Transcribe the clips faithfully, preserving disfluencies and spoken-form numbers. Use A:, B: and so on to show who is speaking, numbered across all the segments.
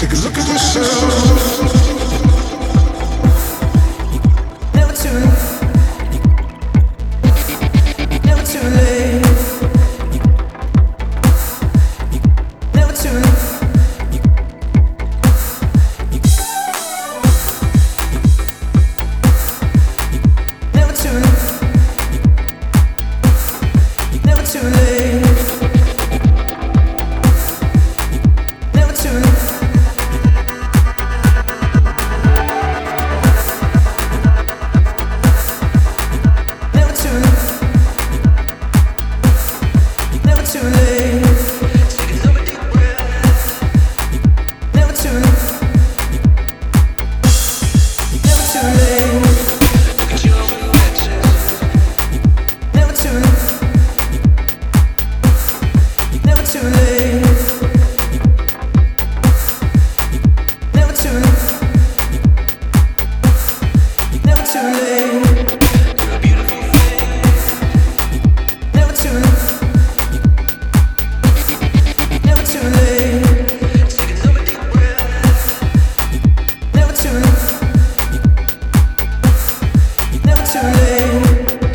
A: Take a look at yourself. Never too Never too late. Never too Never too Never too late. Never too Never too Never too late. Never too Never too late. Never too Never too late. Never too Never too late. Never too Never too late. Never too Never too late.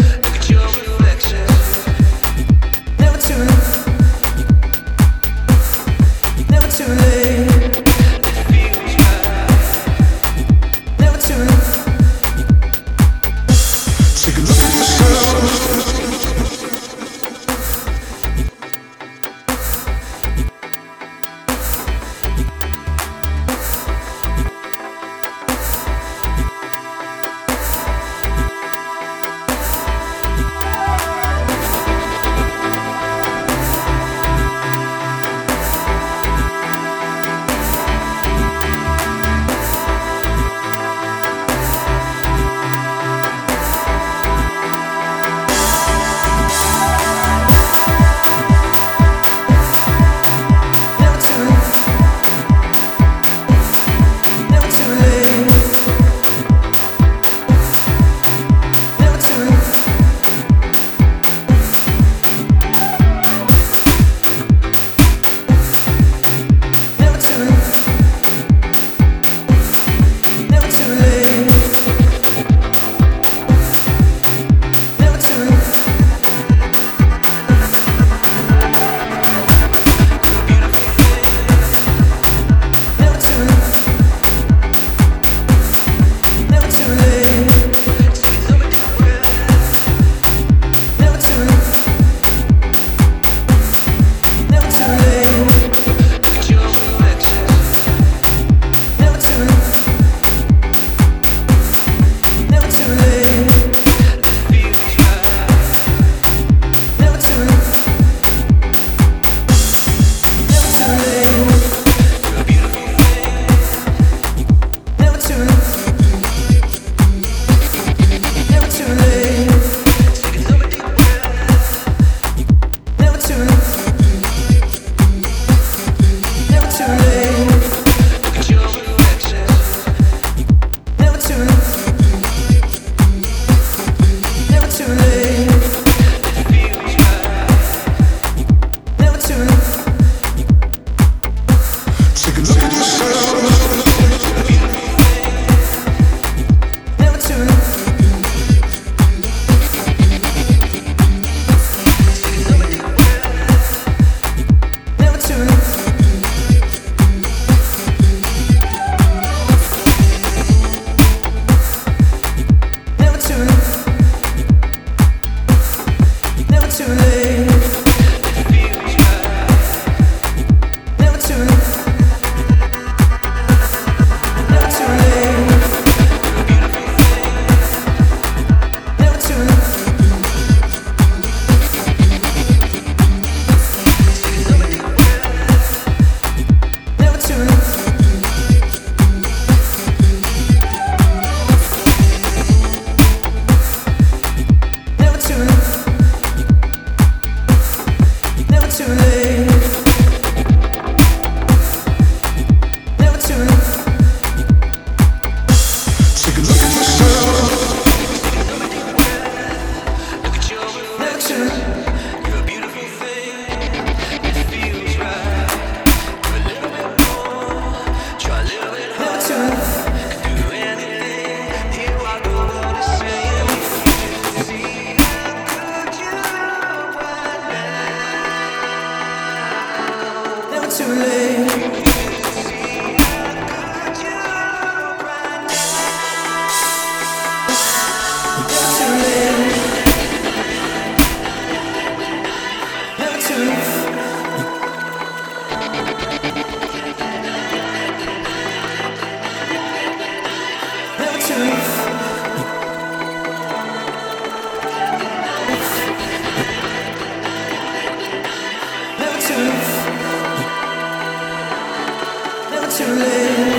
A: Never too Never too late. Never too Take a look at yourself. Never too Never too late. Never too Never too Never too late. Never too Never too Never too late. Never too Never too late. Never too Never too late. Never too Never too late. Never too Never too late. Never too Never too late. Never too Never too late. Never too Take a look at yourself. Never too Never too Never too Never too late. Never too Never too late. Never too Never too Never too Never too late. Never too Take a look at yourself. Never too You're a beautiful thing. It feels right. You're a little bit more late.